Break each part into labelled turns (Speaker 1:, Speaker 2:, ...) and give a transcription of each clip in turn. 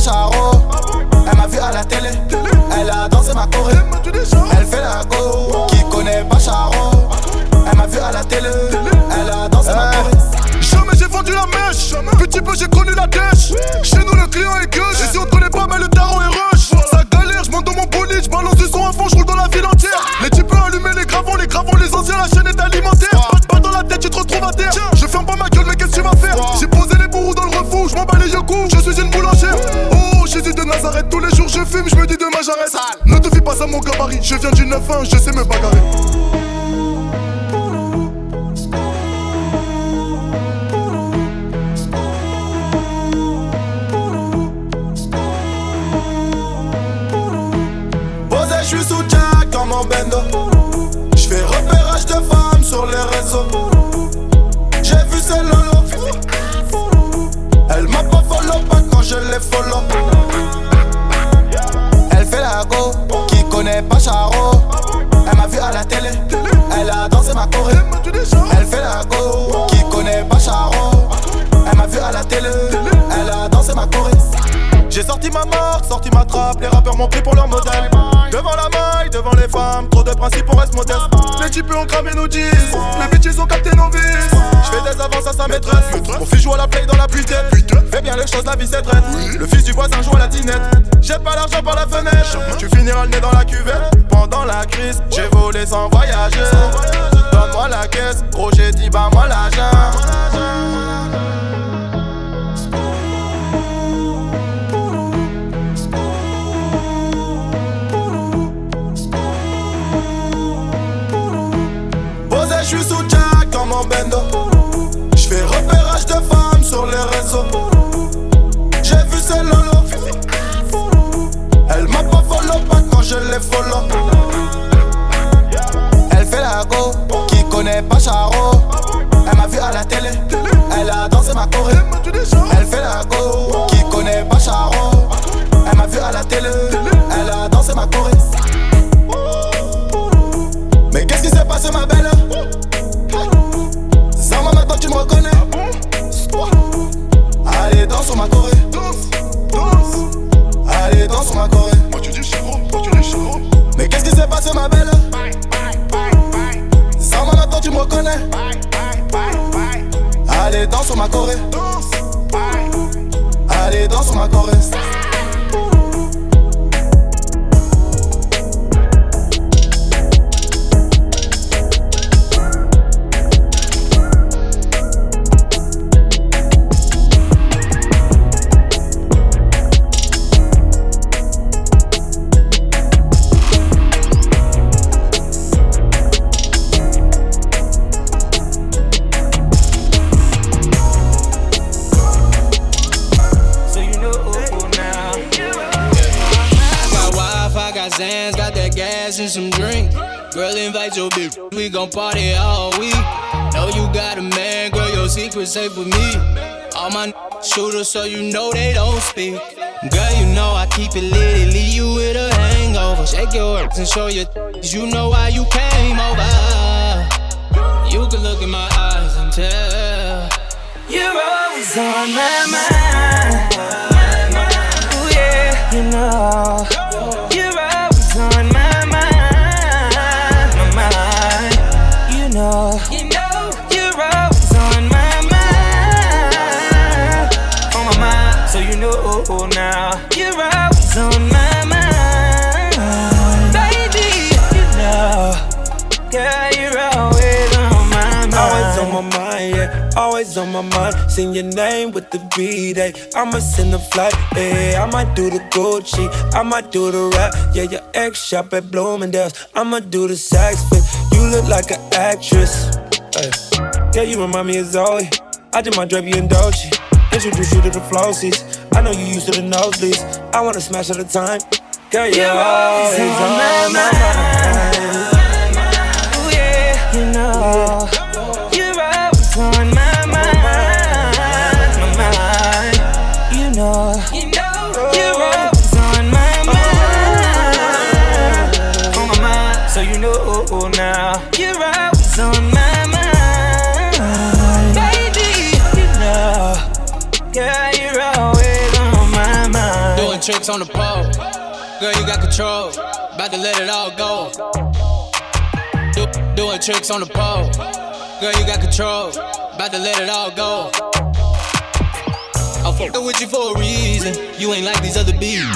Speaker 1: Charo. Elle m'a vu à la télé, elle a dansé ma choré. Elle fait la go, qui connaît pas Charo. Elle m'a vu à la télé, elle a dansé ma choré.
Speaker 2: Jamais j'ai vendu la mèche, petit peu j'ai connu la dèche. Chez nous le client est gueuche, et si on te connaît pas mais le tarot est rush. Ça galère, je monte dans mon bolide, je balance du son à fond, je roule dans la ville entière. Les types allumer les gravons, les anciens, la chaîne est alimentaire. Pas dans la tête, tu te retrouves à terre. Je ferme pas ma gueule, mais qu'est-ce que tu vas faire? J'ai posé les bourreaux dans le refour, je m'en bats les yeux coups, je suis une boulangère. Oh, Jésus de Nazareth, tous les jours je fume, je me dis demain j'arrête. Ne te fie pas à mon gabarit, je viens du 9-1, je sais me bagarrer.
Speaker 1: Je suis sous Jack dans mon bendo. J'fais repérage de femmes sur les réseaux. J'ai vu ses lolo. Elle m'a pas follow pas quand je les follow. Elle fait la go, qui connaît pas Charo. Elle m'a vu à la télé, elle a dansé ma choré. Elle fait la go, qui connaît pas Charo. Elle m'a vu à la télé, elle a dansé ma choré. J'ai sorti ma marque, sorti ma trappe, les rappeurs m'ont pris pour leur modèle. Devant la maille, devant les femmes, trop de principes on reste modeste. Les types ont cramé nos jeans, les bitches ont capté nos vices. J'fais des avances à sa maîtresse, mon fils joue à la play dans la puitaine. Fais bien les choses, la vie c'est traite. Le fils du voisin joue à la dinette. Jette pas l'argent par la fenêtre, tu finiras le nez dans la cuvette. Pendant la crise, j'ai volé sans voyager. Donne-moi la caisse, gros j'ai dit bah moi l'argent. Je suis sous Jack dans mon bendo. J'fais repérage de femmes sur les réseaux. J'ai vu ses lolo. Elle m'a pas follow pas quand je les follow. Elle fait la go, qui connaît pas Charo. Elle m'a vu à la télé, elle a dansé ma choré. Elle fait la go, qui connaît pas Charo. Elle m'a vu à la télé, elle a dansé ma choré. Mais qu'est-ce qui s'est passé ma belle? Zama maintenant tu me reconnais. Allez danse sur ma choré. Allez danse sur ma choré.
Speaker 2: Moi tu dis Charo, moi tu dis Charo.
Speaker 1: Mais qu'est-ce qui s'est passé ma belle? Zama maintenant tu me reconnais. Allez danse sur ma choré. Allez danse sur ma choré.
Speaker 3: And some drink. Girl, invite your bitch, we gon' party all week. Know you got a man, girl, your secret safe with me. All my shooters, so you know they don't speak. Girl, you know I keep it lit, it leave you with a hangover. Shake your hips and show your you know why you came over. You can look in my eyes and tell you're always on my mind. Ooh yeah, you know you're always on my you know, you're always on my mind. On my mind, so you know now. You're always on my mind. Baby, you know. Yeah, you're always on my mind.
Speaker 4: Always on my mind, yeah. Always on my mind. Sing your name with the beat, eh. I'ma send a flight, eh. I might do the Gucci, I might do the rap. Yeah, your ex shop at Bloomingdale's. I'ma do the sax fit. You look like an actress. Hey. Yeah, you remind me of Zoe. I did my Drape and Dolce. Introduce you to the flossies. I know you used to the nosebleeds. I wanna smash all the time. Girl, you're always on my mind.
Speaker 3: Ooh yeah, you know you're always on my mind. My mind, you know you're always on my mind. On my mind, so you know now you're always on my mind. Baby, you know, girl, you're always on my mind. on the pole. Girl, you got control. About to let it all go. Doing tricks on the pole. Girl, you got control. About to let it all go. I'm fucking with you for a reason. You ain't like these other bees.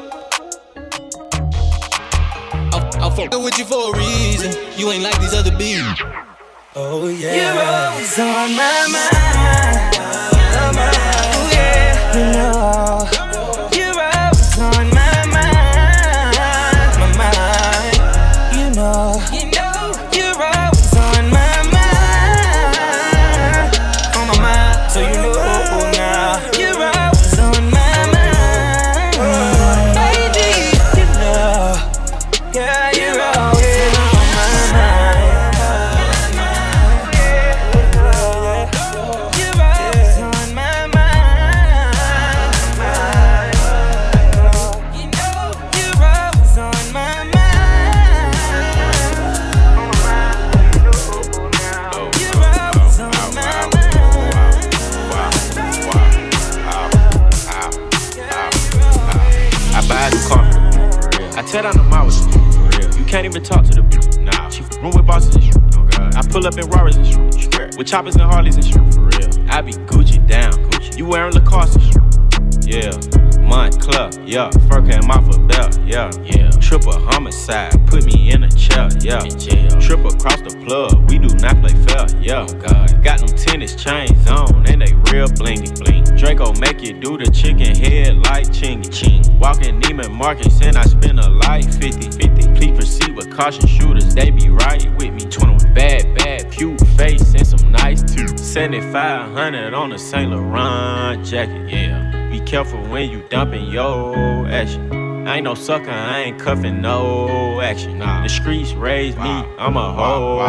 Speaker 3: I'm fucking with you for a reason. You ain't like these other bees.
Speaker 4: Oh yeah.
Speaker 5: You're always on my mind. Oh yeah. You know. You're always on my mind. My mind. You know. You're always on my mind. On my mind. So you know now. You're always on my mind. Baby, you know. Yeah, you're always on my mind. You're always on my mind. You know, you're always on my mind. You're always on my mind.
Speaker 6: I buy the car. I tear down the miles. You can't even talk to the bitch. Nah. She room with bosses and shit. Oh God. I pull up in Rarers and shit. With choppers and Harleys and shit. For real. I be Gucci down. Gucci. You wearing Lacoste and shit. Yeah. Montclair. Yeah. Fur came off a belt. Yeah. Yeah. Triple homicide. Put me in a chair. Yeah. In jail. Triple across the plug. We do not play fair. Yeah. Oh God. Got them tennis chains on and they real blingy bling. Draco make you do the chicken head like chingy ching. Walking Neiman Marcus and I spend a life 50-50. Please proceed with caution, shooters, they be right with me. 21 bad, cute face and some nice teeth. 7,500 on a Saint Laurent jacket, yeah. Be careful when you dumping your action. I ain't no sucker, I ain't cuffing no action. Nah. The streets raised me, I'm a hoe.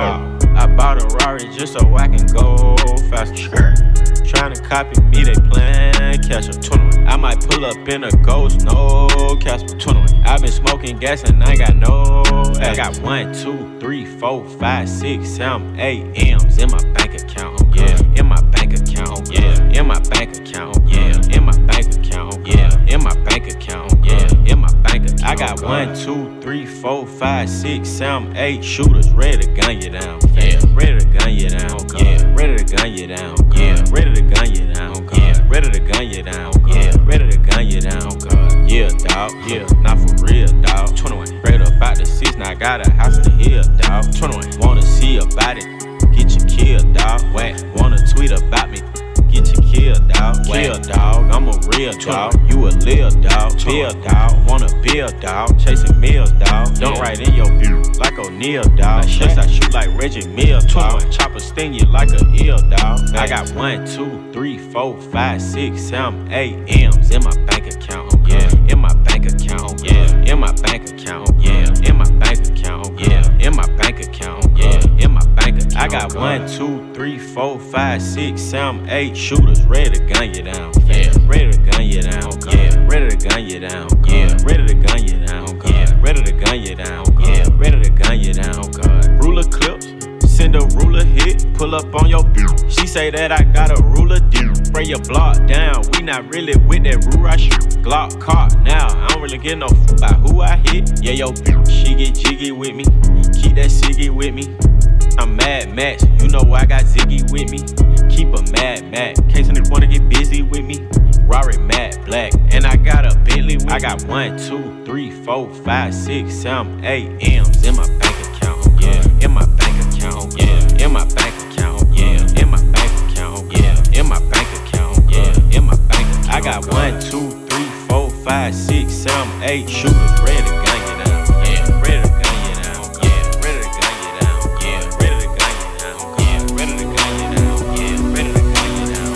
Speaker 6: I bought a Rari just so I can go faster. Tryna copy me, they playin' catch up. 21. I might pull up in a ghost, no Casper. 21. I been smoking gas and I ain't got no action. I got 1, 2, 3, 4, 5, 6, 7, 8 M's in my bank account. Yeah, in my bank account. Yeah, in my bank account. Yeah, in my bank account. Yeah, in my bank account. Yeah, in my bank account. I got 1, 2, 3, 4, 5, 6, 7, 8 shooters ready to gun you down. Yeah, ready to gun you down. Yeah, ready to gun you down. Yeah, ready to gun you down. Yeah, ready to gun you down. Yeah, ready to gun you down. Yeah, dawg. Yeah, not for real, dawg. 21. Straight up out the 6, now I got a house in the hill, dawg. 21. Wanna see about it? Get you killed, dawg. Whack. Wanna tweet about me? Get you killed, dawg. Kill, dawg. I'm a real dawg. You a lil dawg. Bill, dawg. Wanna build, dawg. Chasing meals, dawg. Don't write in your view like O'Neal, dawg. Shots I shoot like Reggie Mills, dawg. Chopper sting you like a eel, dawg. I got 1, 2, 3, 4, 5, 6, 7, 8 M's in my bank account. Yeah, in my bank account. Yeah, in my bank account. Yeah, in my bank account. Yeah, in my bank account. Yeah, in my bank account. I got 1, 2, 3, 4, 5, 6, 7, 8 shooters ready to gun you down. Yeah, ready to gun you down. Yeah, ready to gun you down. Yeah, ready to gun you down. Yeah, ready to gun you down. Yeah, ready to gun you down. Ruler clips. Send a ruler hit, pull up on your bitch. She say that I got a ruler deal. Spray your block down, we not really with that rule I shoot. Glock caught now, I don't really give no f about who I hit. Yeah, yo bitch, she get jiggy with me. Keep that ciggy with me. I'm Mad Max, you know I got Ziggy with me. Keep a Mad Max, in case niggas wanna get busy with me. Rari matte black, and I got a Bentley with me. I got 1, 2, 3, 4, 5, 6, 7, 8 M's in my bank account. Yeah, in my bank account. Yeah, in my bank account. Yeah, in my bank account. Yeah, in my bank account. Yeah, in my bank account. I got 1, 2, 3, 4, 5, 6, 7, 8 shooters ready to gun you down. Yeah, ready to gun you down. Yeah, ready to gun you down. Yeah, ready to gun you down. Yeah, ready to gun you down. Yeah, ready to gun you down.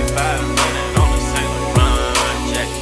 Speaker 6: 7,500 on the Saint Laurent jacket.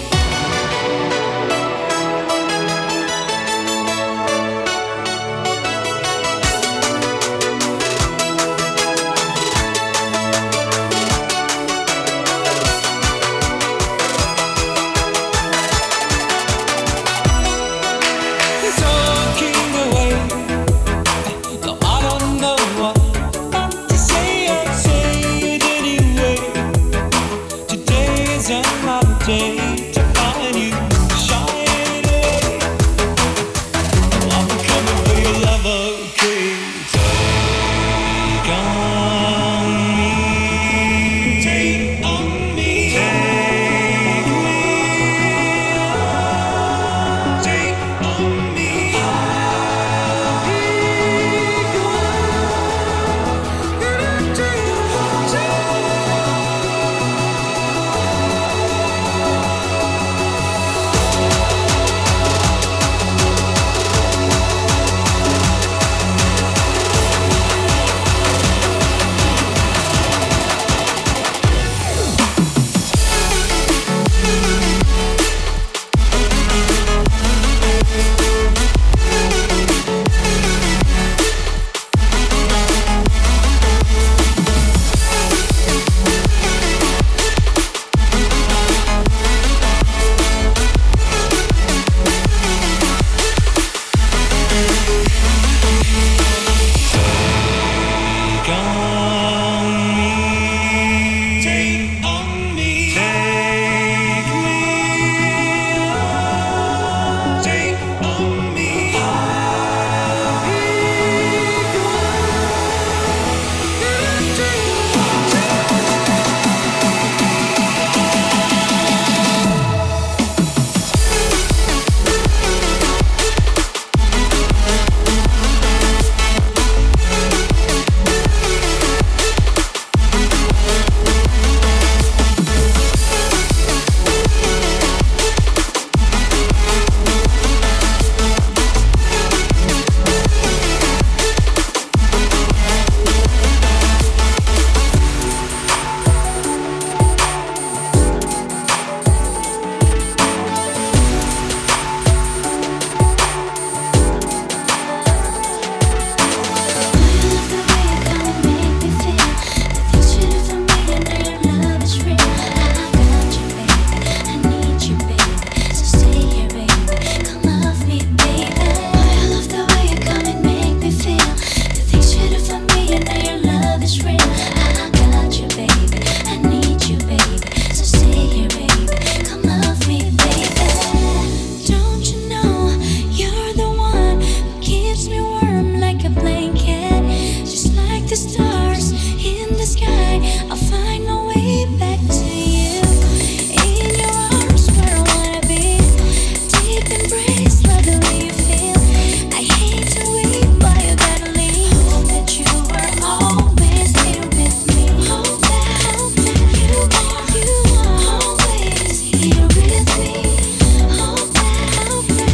Speaker 7: stars in the sky, I'll find my way back to you. In your arms where I wanna be, deep embrace, love the way you feel. I hate to wait, but you gotta leave. Hope that you are always here with me. Hope that you are always here with me. Hope that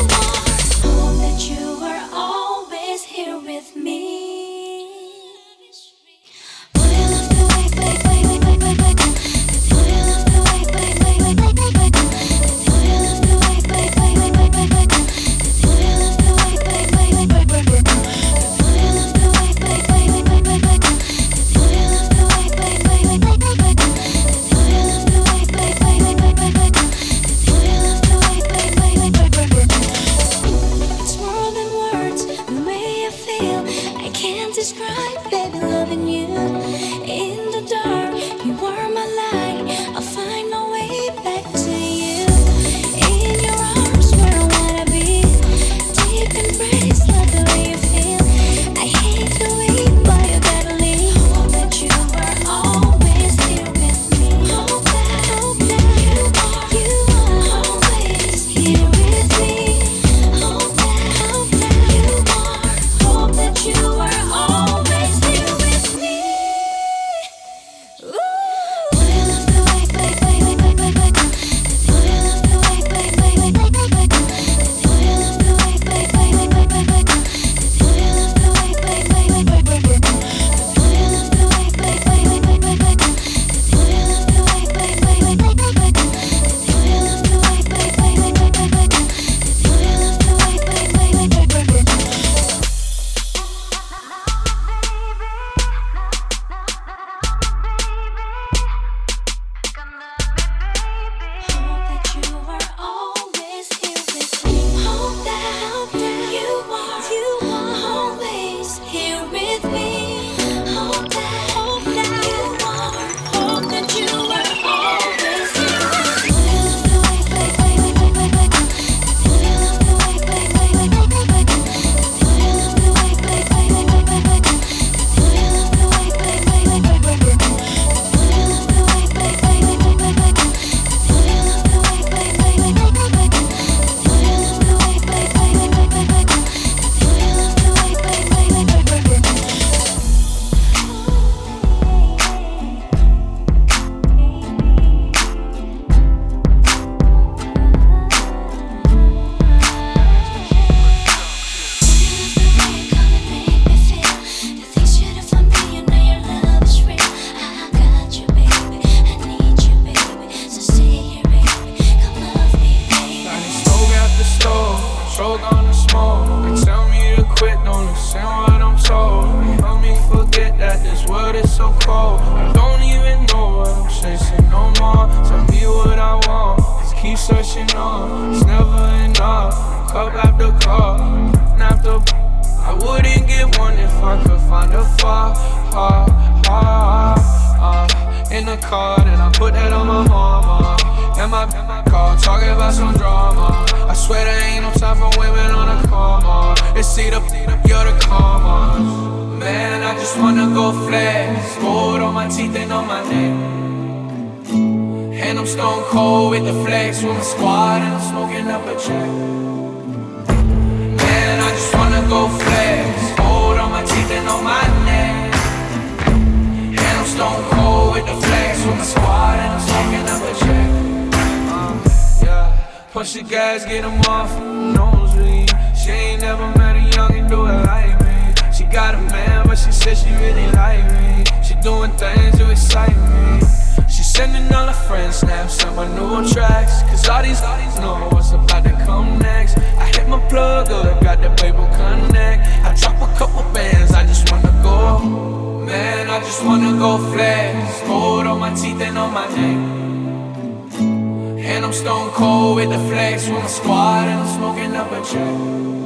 Speaker 7: you are always here with me. It's more than words, the way I feel. I can't describe, baby, loving you. In the dark, you are my light. I'll find my way back to you. In your arms where I wanna be, deep embrace, love the way you feel. I hate to wait, but you gotta leave. Hope that you are always here with me. Hope that you are always here with me. Hope that you are always here with me. Ooh.
Speaker 4: Push the gas, get them off, nosebleed. She ain't never met a youngin' do it like me. She got a man, but she said she really like me. She doing things to excite me. She sending all her friends snaps on my new tracks. Cause all these know what's about to come next. I hit my plug up, got the Babel Connect. I drop a couple bands, I just wanna go. Man, I just wanna go flex. Gold on my teeth and on my neck. And I'm stone cold with the flex with my squad, and I'm smoking up a check.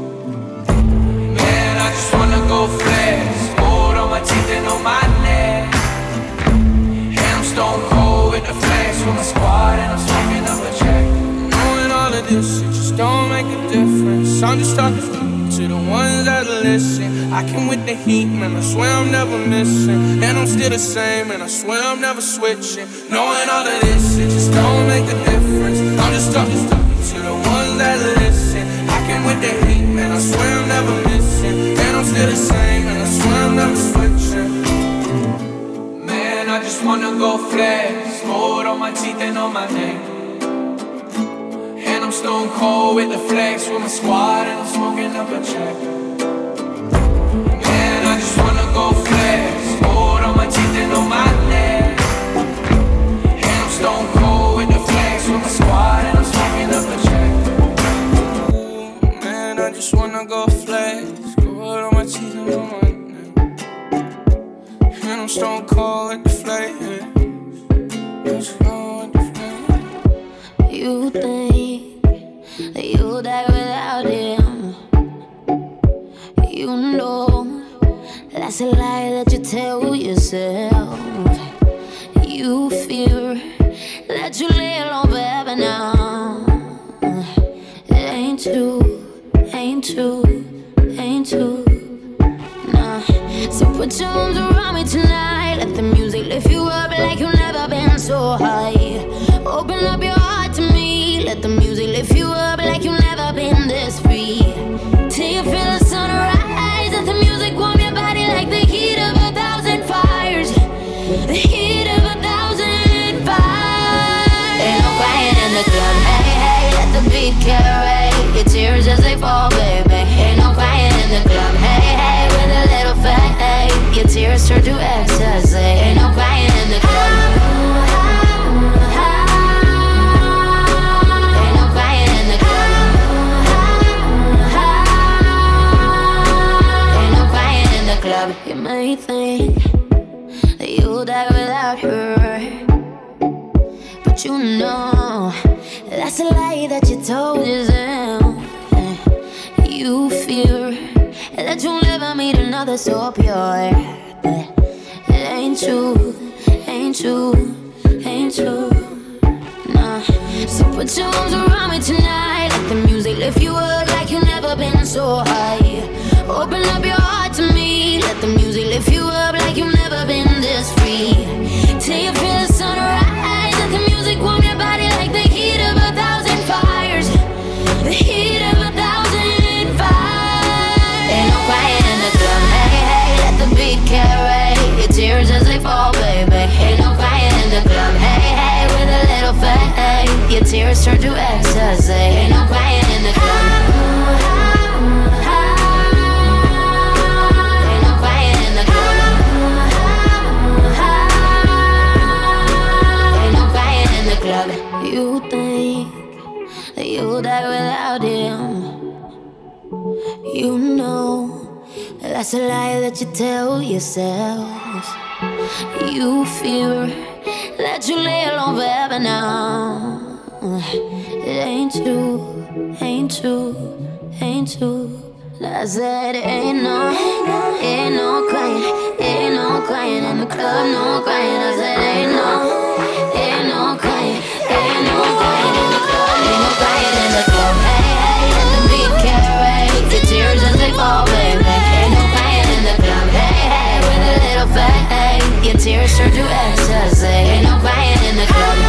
Speaker 4: Man, I just wanna go flex. Gold on my teeth and on my neck. And I'm stone cold with the flex with my squad, and I'm smoking up a check. Knowing all of this, it just don't make a difference. I'm just talking to the
Speaker 3: ones that listen. I came with the heat, man, I swear I'm never missing. And I'm still the same, and I swear I'm never switching. Knowing all of this, it just don't make a difference. I'm just talking to the ones that listen. I came with the heat, man, I swear I'm never missing. And I'm still the same, and I swear I'm never switching. Man, I just wanna go flex. Gold on my teeth and on my neck. And I'm stone cold with the flex with my squad, and I'm smoking up a check. Man, I just wanna go flex. Gold on my teeth and on my neck. And I'm stone cold with the flex with my squad, and I'm smoking up a check. Ooh, man, I just wanna go flex. Gold on my teeth and on my neck. And I'm stone cold with the flex.
Speaker 7: You think that you'll die without him. You know that's a lie that you tell yourself. You fear that you lay alone forever now. It ain't true, ain't true, ain't true. Nah. So put your arms around me tonight. Let the music lift you up like you've never been so high. Open up your heart to me. Let the music lift you up like you've never been this free. Till you feel the sunrise. Let the music warm your body like the heat of 1,000 fires. The heat of 1,000 fires. Ain't no crying in the club. Hey, hey, let the beat carry your tears as they fall, baby. Ain't no crying in the club. Hey, hey, with a little fade. Your tears turn to ecstasy. Ain't no crying in the club. You may think that you'll die without her, but you know that's a lie that you told yourself. You fear that you'll never meet another so pure, but it ain't true, ain't true, ain't true. Nah. So put your arms around me tonight. Let the music lift you up like you've never been so high. Open up your heart to me. Let the music lift you up like you've never been this free. Till you feel the sunrise. Let the music warm your body like the heat of 1,000 fires. The heat of 1,000 fires. Ain't no crying in the club. Hey, hey, let the beat carry your tears as they fall, baby. Ain't no crying in the club. Hey, hey, with a little fade. Your tears turn to ecstasy. Ain't no crying in the club. You think that you'll die without him. You know that's a lie that you tell yourself. You fear that you lay alone forever now. It ain't true, ain't true, ain't true. I said ain't no crying, ain't no crying in the club, no crying. I said ain't no crying. Ain't no crying in the club, ain't no crying in the club. Hey, hey, let the beat carry your tears as they fall, baby. Ain't no crying in the club. Hey, hey, with a little fade. Your tears turn to ecstasy. Ain't no crying in the club.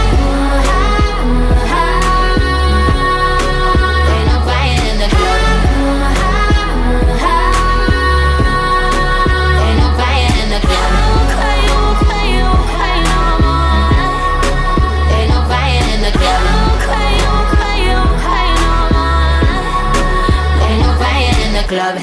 Speaker 7: Ain't no crying in the club. Ain't no crying in the club. Club.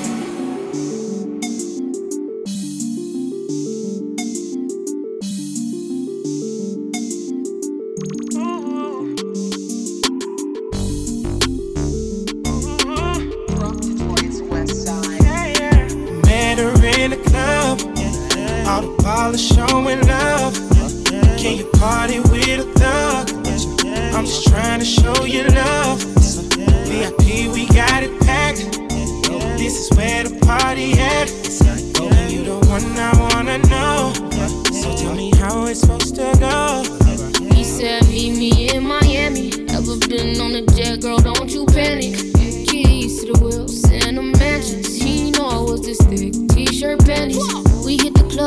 Speaker 4: Met her in the club, all the ballers showing love. Can you party with a thug? I'm just trying to show you love. VIP, we got it packed. This is where the party at. And you the one I wanna know. So tell me how it's supposed to go.
Speaker 8: He said meet me in Miami. Ever been on a jet, girl, don't you panic. Keys to the wheels and the mansions. He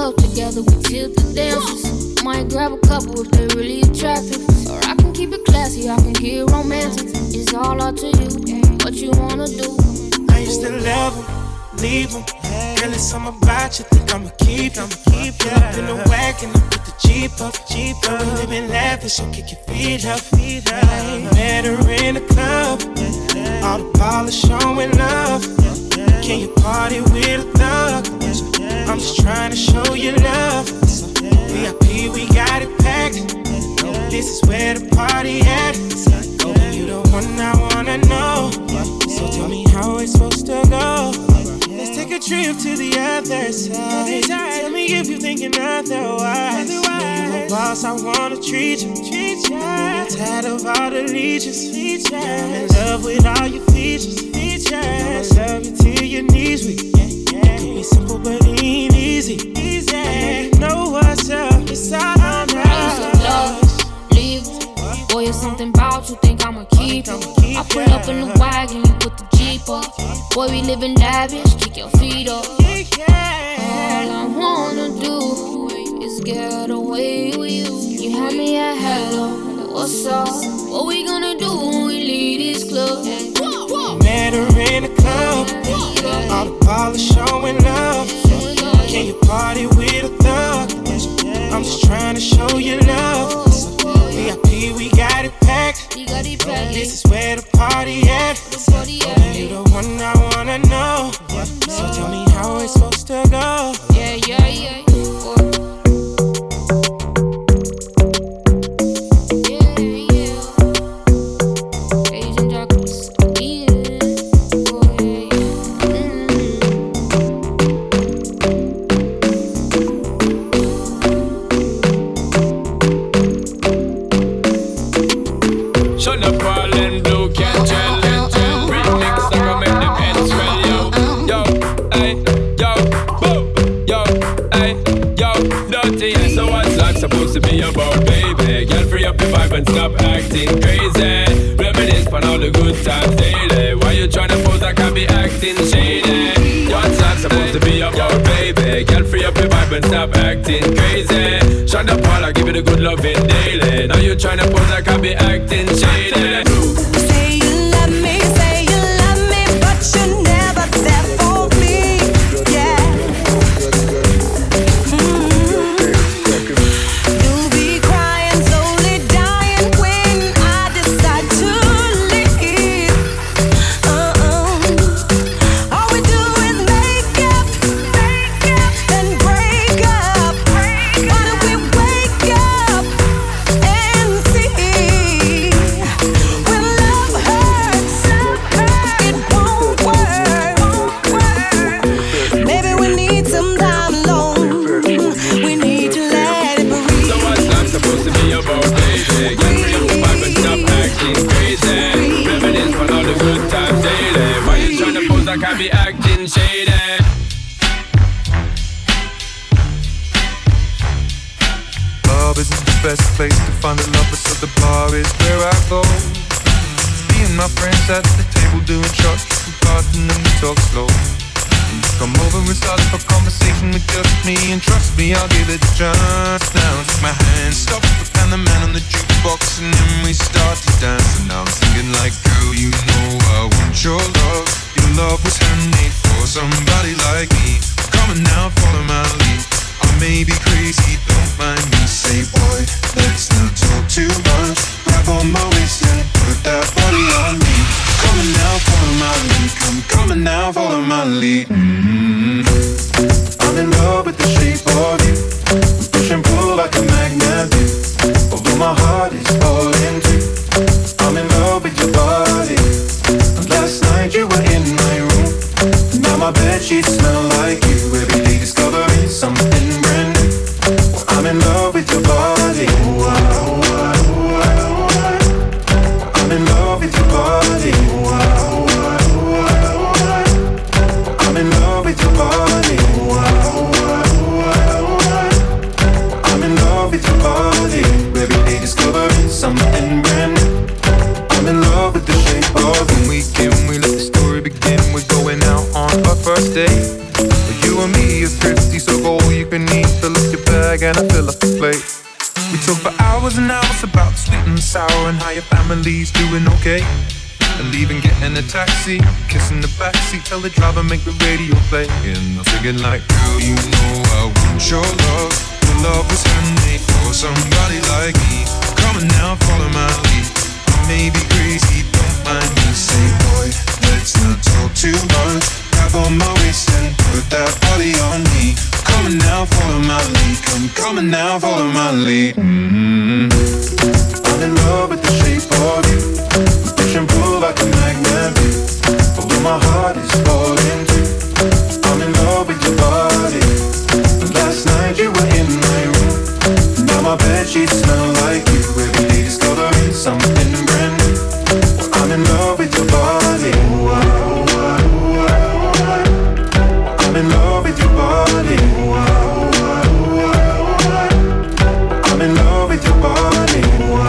Speaker 8: club together, we tip the dancers. Might grab a couple if they're really attractive. Or I can keep it classy, I can get romantic. It's all up to you, what you wanna do.
Speaker 4: I used to love them, leave them. Girl, it's something about you, think I'ma keep them. Pull up in the wagon, I put the Jeep up. We living lavish, so kick your feet up. Met her in the club, all the polish showing love. Can you party with a thug? I'm just trying to show you love. VIP, we got it packed. This is where the party at. You the one I wanna know. So tell me how it's supposed to go. Let's take a trip to the other side. Tell me if you're thinking otherwise. Know you a boss, I wanna treat you. You're tired of all the leeches. I'm in love with all your features. I love you till your knees weak. It could be simple but it ain't easy. You know what's up, it's all on us.
Speaker 8: Leave. Boy, it's something about you, think I'ma keep it. I pull up in the wagon, you put the Jeep up. Boy, we living lavish, kick your feet up. All I wanna do is get away with you. You had me at hello, what's up? What we gonna do when we leave this club?
Speaker 4: Met her in the club, all the polish showing love. Can you party with a thug? I'm just trying to show you love. VIP, we got it packed. This is where the party at. You the one I wanna know. So tell me how it's supposed to go.
Speaker 8: Yeah. Asian chocolates,
Speaker 3: Shut up, all and blue, can't tell. Remix, I can make them heads swell, yo. Ay, yo, boom, yo, ay, yo, dirty. Yeah, so what's life supposed to be about, baby? Girl, free up your vibe and stop acting crazy. Reminisce on all the good times daily. Why you tryna pose like I be acting shady? What's life supposed to be about, baby? Girl, free up your vibe and stop acting crazy. Shut up, all I give it a good loving daily. Now you tryna pose like I be acting shady.
Speaker 9: Say you love me, but you're never there for me. Yeah. You'll be crying, slowly dying when I decide to leave. All we do is make up, then break up. Why don't we wake up and see when love hurts, it won't work. Maybe we need some time alone. We need to let it breathe.
Speaker 3: So what's life supposed to be about, baby? Get free up your vibe and stop acting crazy. Reminisce on all the good times daily. Why you tryna pose like I be acting shady?
Speaker 10: Club isn't the best place to find a lover, so the bar is where I go. Me and my friends at the table doing shots, we part and then we talk slow. Come over and start up a conversation with just me, and trust me, I'll give it a chance. Now take my hand, stop, and the man on the jukebox, and then we start to dance. And now I'm singing like, girl, you know I want your love. Your love was handmade for somebody like me. Come on now, follow my lead. I may be crazy, don't mind me. Say, boy, let's not talk too much. Grab on my waist and put that body on me. Come on now, follow my lead. Come on now, follow my lead. I'm in love with the shape of you. We push and pull like a magnet do. Although my heart is falling too. I'm in love with your body. Last night you were in my room. Now my bedsheets smell like you. Every day discovering something brand new. fill up your bag and I fill up the plate. We talk for hours and hours about the sweet and the sour and how your family's doing okay. And even getting a taxi, kissing the backseat, tell the driver make the radio play. And I'm singing like, girl, you know I want your love. Your love was handmade for somebody like me. Come on now, follow my lead. I may be crazy, don't mind me. Say, boy, let's not talk too much. Grab on my waist and put that body on me. Come on now, follow my lead. Come on now, follow my lead. I'm in love with the shape of you. Push and pull like a magnet do. Although my heart is falling too. I'm in love with your body. Last night you were in my room. Now my bedsheets smell like you. Every day discovering something brand new. I'm in love with your body. I'm in love with your body. I'm in love with your body.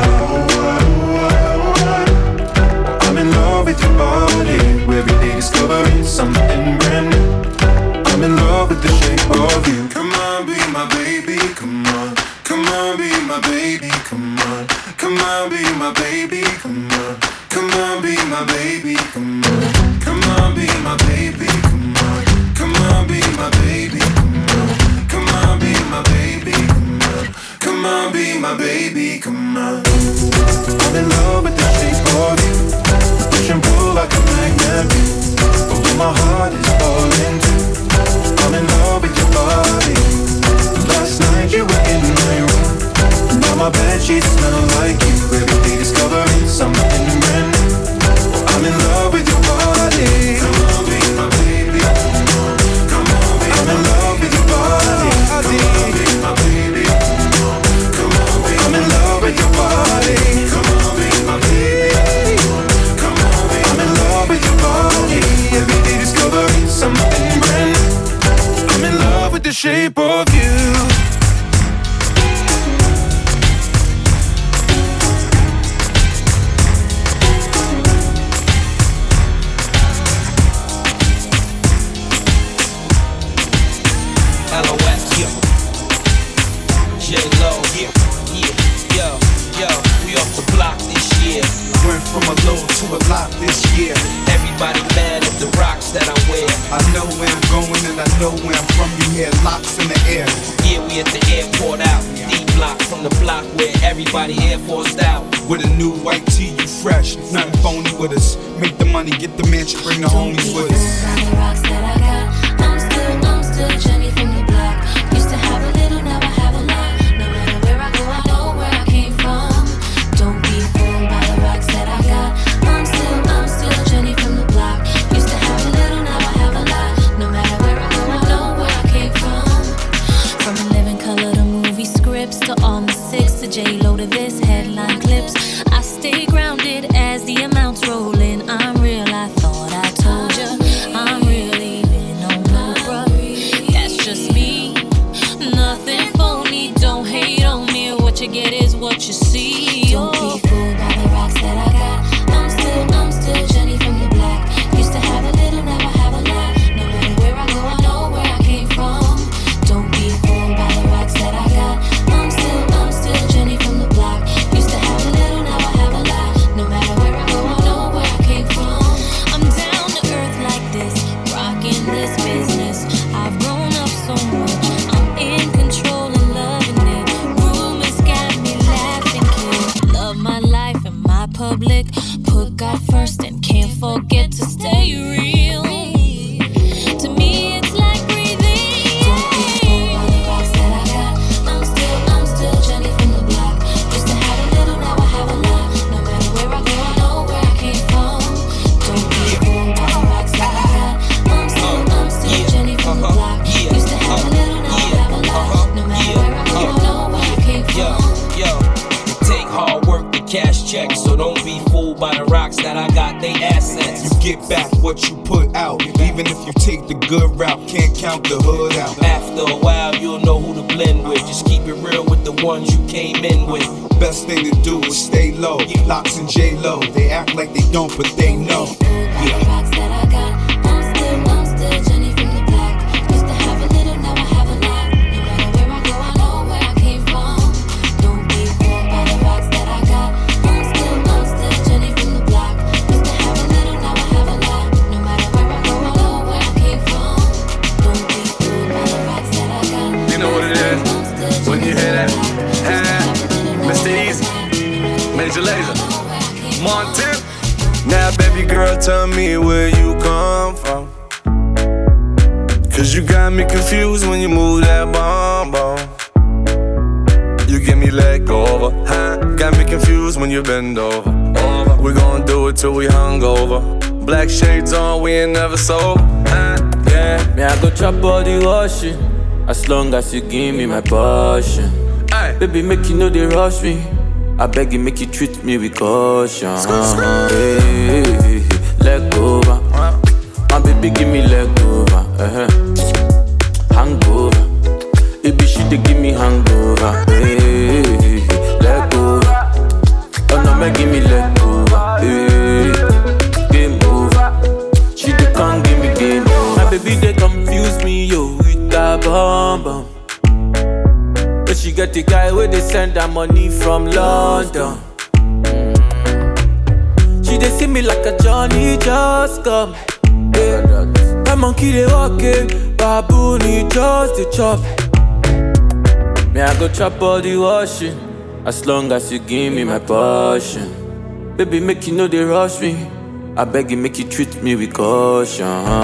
Speaker 10: I'm in love with your body. Every day discovering something brand new. I'm in love with the shape of you. Come on, be my baby, come on. Come on, be my baby, come on. Come on, be my baby, come on. Come on, be my baby, come on. Come on, be my baby, come on. Come on, be my baby, come on. Come on, be my baby, come on. Come on, be my baby, come on. I'm in love with the shape of you. Push and pull like a magnet do. Although my heart is falling too. I'm in love with your body. Last night you were in my room. Now my bedsheets smell like you. Every day discovering something brand new. I'm in love with your body. Come on, be my baby. Come on, be I'm in love with your body. Come on, be my baby. Come on, be I'm in love with your body. Come on, be my baby. Come on, be I'm in love with your body. Every day discovering something brand new. I'm in love with the shape of you.
Speaker 11: From a low to a lot this year. Everybody mad at the rocks that I wear. I know where I'm going and I know where I'm from. You hear locks in the air. Yeah, we at the airport out. D-block from the block where everybody Air Forced out. With a new white tee, you fresh. Nothing phony with us. Make the money, get the mansion, bring the homies with us.
Speaker 7: The rocks that I got, I'm still Jenny from the block. Used to have a little, now I have a lot. No matter where I go, I know where I came from. Don't be fooled by the rocks that I got. I'm still Jenny from the block. Used to have a little, now I have a lot. No matter where I go, I know where I came from. From a living color to movie scripts to all my six to J-Lo to this headline clips. I stay grounded as the amounts roll in. I'm real, I thought I told ya. I'm really been on no bruh. That's just me. Nothing phony, don't hate on me. What you get is what you see. Don't be fooled by the rocks that I got. I'm still Jenny from the block. Used to have a little, now I have a lot. No matter where I go, I know where I came from. Don't be fooled by the rocks that I got. I'm still Jenny from the block. Used to have a little, now I have a lot. No matter where I go, I know where I came from. I'm down to earth like this, rocking this business. I've grown up so much, I'm in control and loving it. Rumors got me laughing, kid. Love my life and my public. Put God first and can't forget to stay real. To me, it's like breathing. Don't be fooled by the rocks that I got. I'm still Jenny from the block. Used to have a little, now I have a lot. No matter where I go, I know where I came from. Don't be fooled by the rocks that I got. I'm still Jenny from the block. Used to have a little, now I have a lot. No matter where I go, I know where I came from.
Speaker 11: Yo, it take hard work to cash checks, so don't be fooled by the rocks that I got, they assets.
Speaker 12: You get back what you put out. Even if you take the good route, can't count the hood out.
Speaker 11: After a while, you'll know who to blend with. Just keep it real with the ones you came in with.
Speaker 12: Best thing to do is stay low. Locks and J-Lo, they act like they don't, but they know.
Speaker 7: The rocks that I got. I'm still Jenny from the block. Used to have a little, now I have a lot. No matter where I go,
Speaker 2: When you hear that, Mr. Easy, Major Lazer, Montana.
Speaker 13: Now, baby girl, tell me where you come from. Cause you got me confused when you move that bomb. You give me leg over, huh? Got me confused when you bend over. We gon' do it till we hungover. Black shades on, we ain't never sober, huh? Yeah.
Speaker 14: Me, I go chop body washing, as long as you give me my passion.
Speaker 2: Aye.
Speaker 14: Baby, make you know they rush me. I beg you, make you treat me with caution. Hey, leg over. My baby, give me leg over. Hangover. Baby, she dey give me hangover. Hey, leg over. Oh no, make give me leg over. Hey, game over. She dey come give me game over. My baby, they confuse me, yo, with that bomb bomb. But she get the guy where they send her money from London. She dey see me like a Johnny just come. Yeah. My monkey they walking, baboon he just the chop. Me I go chop body washing, as long as you give me my passion. Baby make you know they rush me, I beg you make you treat me with caution.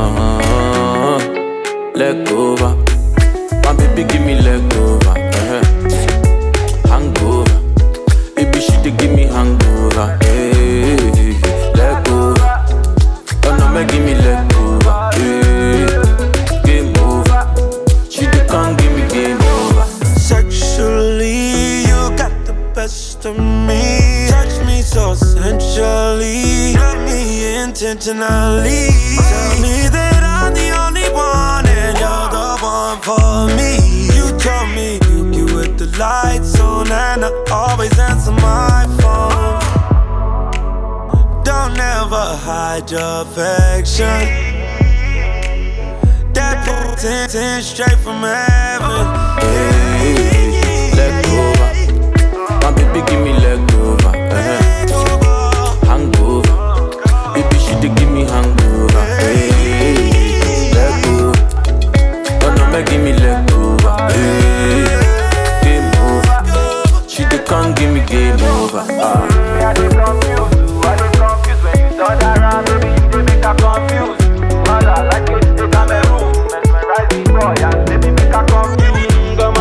Speaker 14: Leg over, my baby give me leg over. Hangover, baby she dey give me hangover. Hey, leg over, oh no make give me leg over. Hey, game over, she dey come give me game over.
Speaker 4: Sexually, you got the best of me. Touch me so sensually, love me intentionally. Tell me that I'm the only one and you're the one for me. You told me you with the lights on and I always answer my phone. Don't ever hide your affection. That putin' straight from heaven.
Speaker 14: Hey, leg over, my baby give me leg over. Hangover, baby she dey give me hangover. Hey, leg over, oh no make give me leg over. Hey, game over, she dey come give me game over.
Speaker 5: I dey confused when you turn around, baby you dey make her confused. Mother like you dey Cameroon, mesmerize the boy and baby make her confused.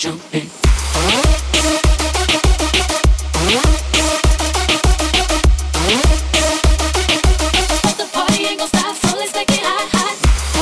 Speaker 8: jumping. The party ain't gon' stop, so let's take it high, high.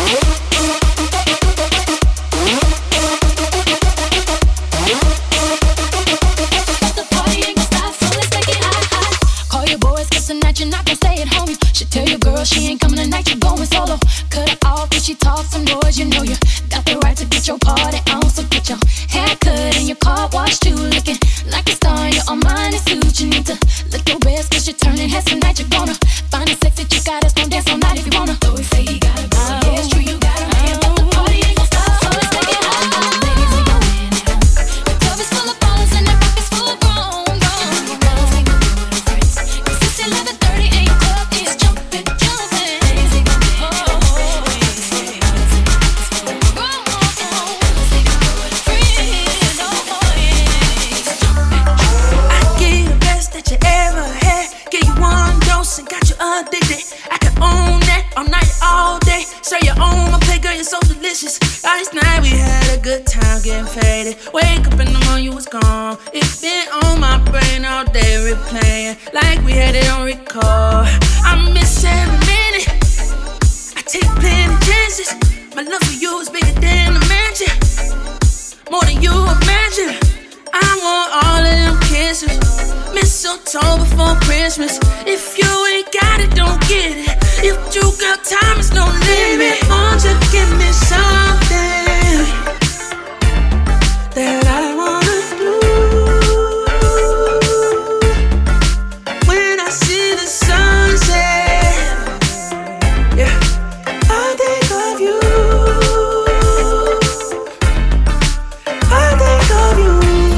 Speaker 8: The party ain't gon' stop, so let's take it high, high. Call your boys, 'cause tonight you're not gon' stay at home. You should tell your girl she ain't coming tonight, you're going solo. Cut her off if she talks some noise, you know you got the right to get your party on. So get your hair cut and your car washed too. Looking like a star in your Armani suit. You need to look your best, 'cause you're turning heads tonight. You're gonna find a sexy chick out that's gonna dance all night if you wanna. Though we say he got a girl, yeah, it's true, you got a man, but the party ain't gon' stop, so let's take it high. Ladies, we gon' win it home. The club is full of ballers and the rock is full grown. Girls ain't gon' do it in France, 'cause it's 11:30 and your club is jumping, jumping. Ladies, we gon' win it home.
Speaker 5: Addicted, I can own that all night, all day. Say you own my play, girl, you're so delicious. Last night we had a good time getting faded. Wake up in the morning, you was gone. It's been on my brain all day, replaying like we had it on record. I miss every minute. I take plenty chances. My love for you is bigger than a mansion, more than you imagine. I want all of them kisses. Mistletoe before Christmas. If you ain't got it, don't get it. If you got time, it's no limit. Won't you give me something that I wanna do? When I see the sunset, yeah, I think of you. I think of you.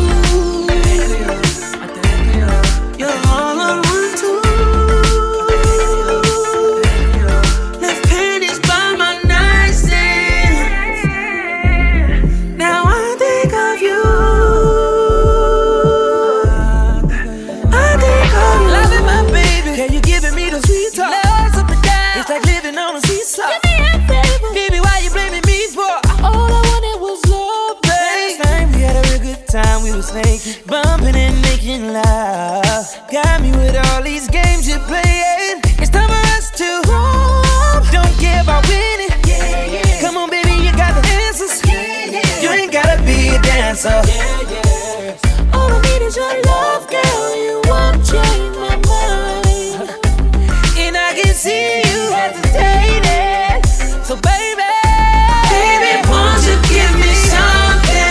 Speaker 5: Bumping and making love. Got me with all these games you're playing. It's time for us to roam. Don't care about winning. Yeah, yeah. Come on, baby, you got the answers. Yeah, yeah. You ain't gotta be a dancer. Yeah, yeah. All I need is your love, girl. You won't change my mind. And I can see you hesitating. So, baby, won't you give me something?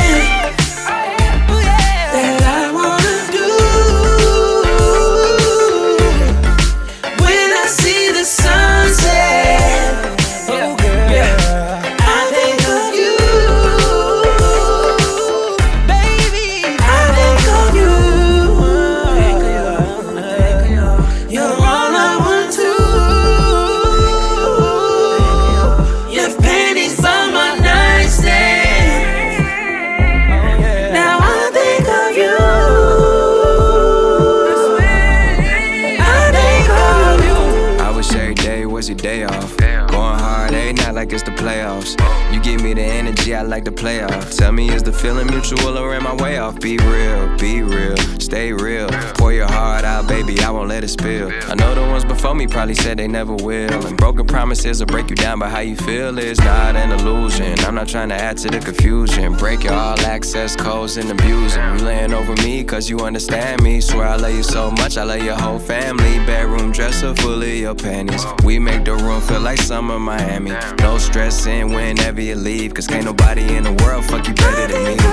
Speaker 15: Like it's the playoffs. You give me the energy, I like the playoff. Tell me, is the feeling mutual or am I way off? Be real, stay real. Pour your heart out, baby, I won't let it spill. I know the ones before me probably said they never will. And broken promises will break you down, but how you feel is not an illusion. I'm not trying to add to the confusion. Break your all access codes and abuse them. You laying over me cause you understand me. Swear I love you so much, I love your whole family. Bedroom dresser full of your panties. We make the room feel like summer Miami. No stressing whenever you leave, cause can't nobody in the world fuck you better than me.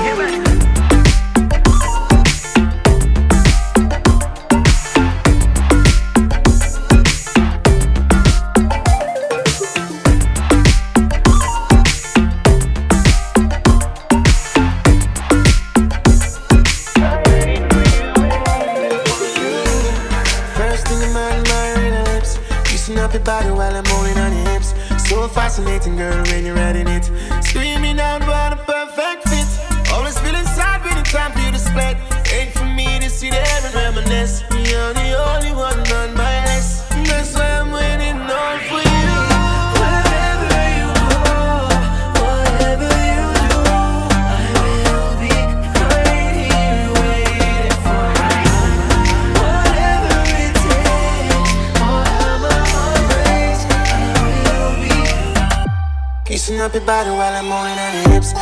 Speaker 16: First thing in my lips, kissing up your body while I'm holding on your hips. So fascinating, girl, when you're riding it. Screaming out, what a perfect fit. up your body while I'm moving on your hips.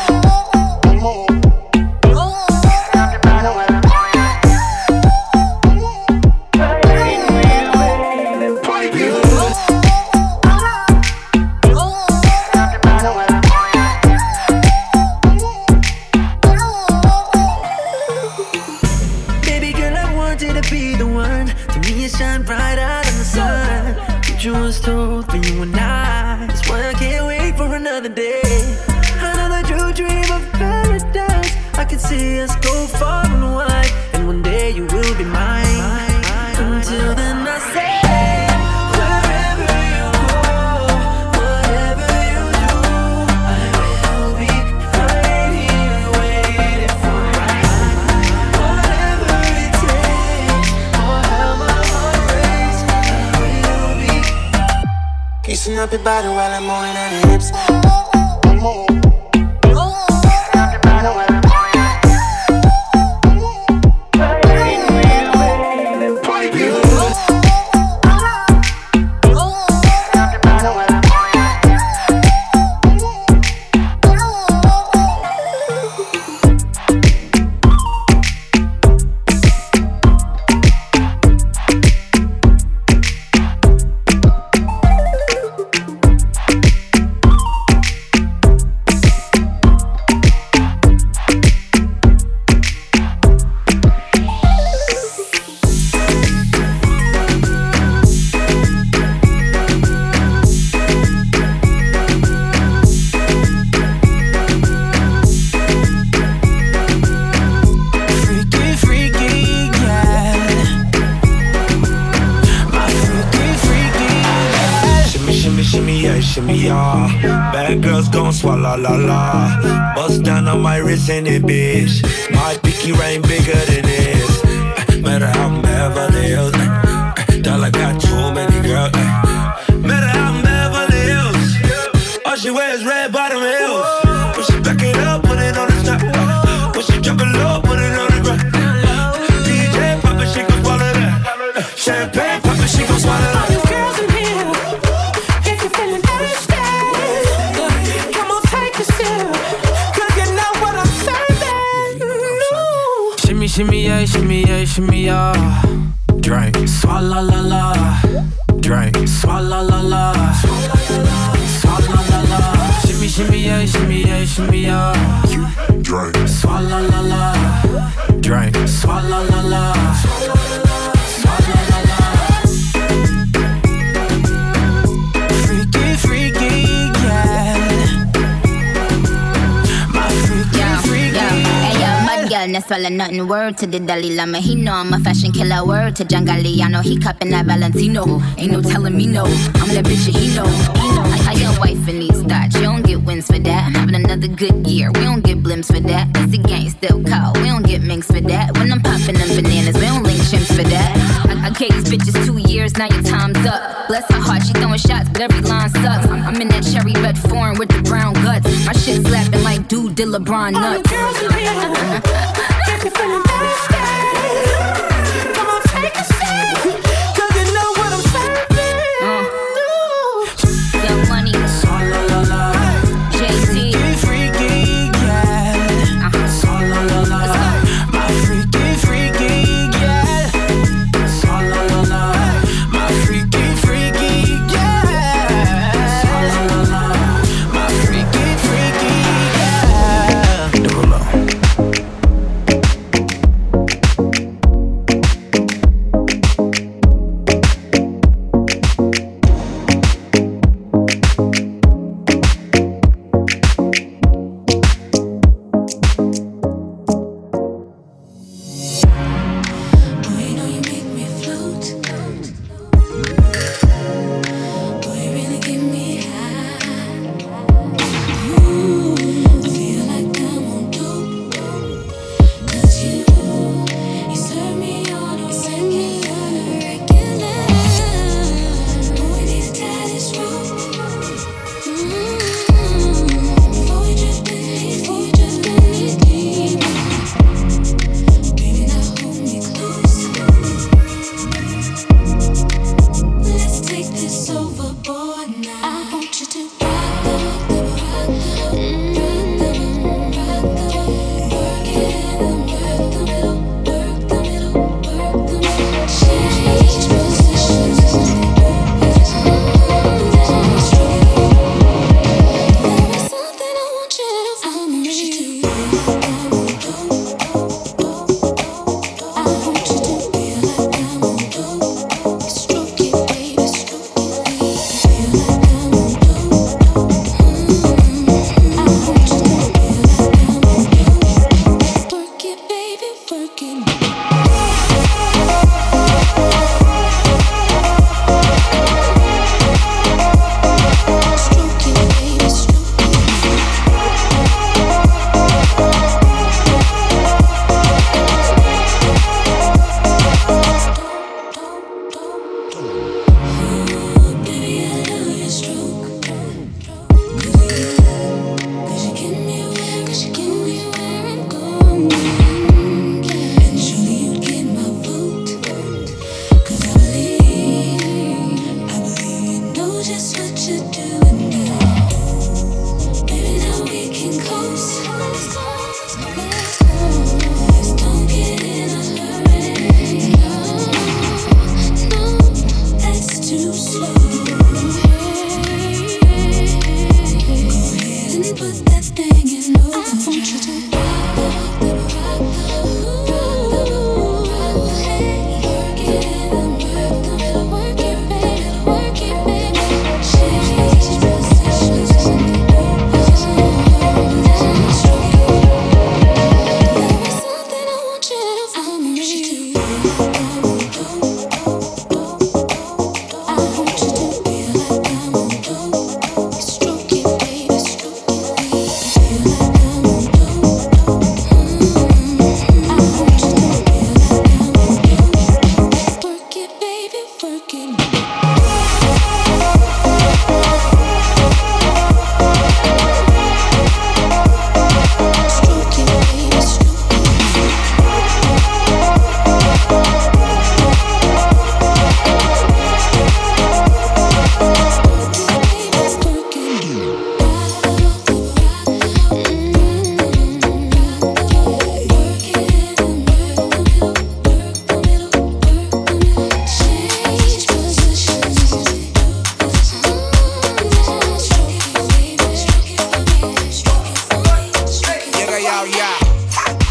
Speaker 5: Baby girl, I want you to be the one. To me, you shine brighter than the sun. Future was told for you and I. That's why I can't wait for another day. Another true dream of paradise. I can see us go far and wide, and one day you will be mine. Until then, I say, wherever you go, whatever you do, I will be right here waiting for you. Whatever it takes, or how my heart breaks, I will be
Speaker 16: Kissing up your body while I'm moving on your hips.
Speaker 4: Shimmy, yeah. Bad girls gon' swallow la la. Bust down on my wrist and it, bitch. My pinky ring bigger than this. Matter how I'm Beverly Hills. Dollar got too many girls. Matter how I'm Beverly Hills. All she wears red bottom heels. When she back it up, put it on the top. When she drop it low, put it on the ground. DJ pop it, she gon' swallow that. Champagne pop it, she gon' swallow that.
Speaker 17: Shimmy, yeah, shimmy, yeah, shimmy, yeah. Drink, swalla la la. Drink, swalla la la. Swalla la la. Shimmy, yeah, shimmy, yeah, shimmy, yeah. Drink, swalla la la. Drink, swalla la la. Swalla la la. Freaky, freaky, yeah. My freaky, freaky.
Speaker 18: Girl, no swallow nothing. Word to the Dalai Lama. He know I'm a fashion killer. Word to John Galliano. He cupping that Valentino. Ain't no telling me no. I'm that bitch that he know. I got wife in these thoughts. You don't get wins for that. I'm having another good year. We don't get blimps for that. That's the gang still call. We don't get minks for that. When I'm popping them bananas, we don't link chimps for that. I gave these bitches 2 years. Now your time's up. Bless her heart. She throwing shots, but every line sucks. I'm in that cherry red foreign with the brown guts. My shit slapping like dude did LeBron nuts. If you're feeling thirsty, come on, take a sip, 'cause you know what I'm serving. Young Money, swalla la la. Jay-Z, freaky, yeah. Swalla la la. My freaky, freaky, yeah. Swalla la la. My freaky, freaky, yeah. Swalla la la. My freaky, freaky, yeah.
Speaker 17: 0.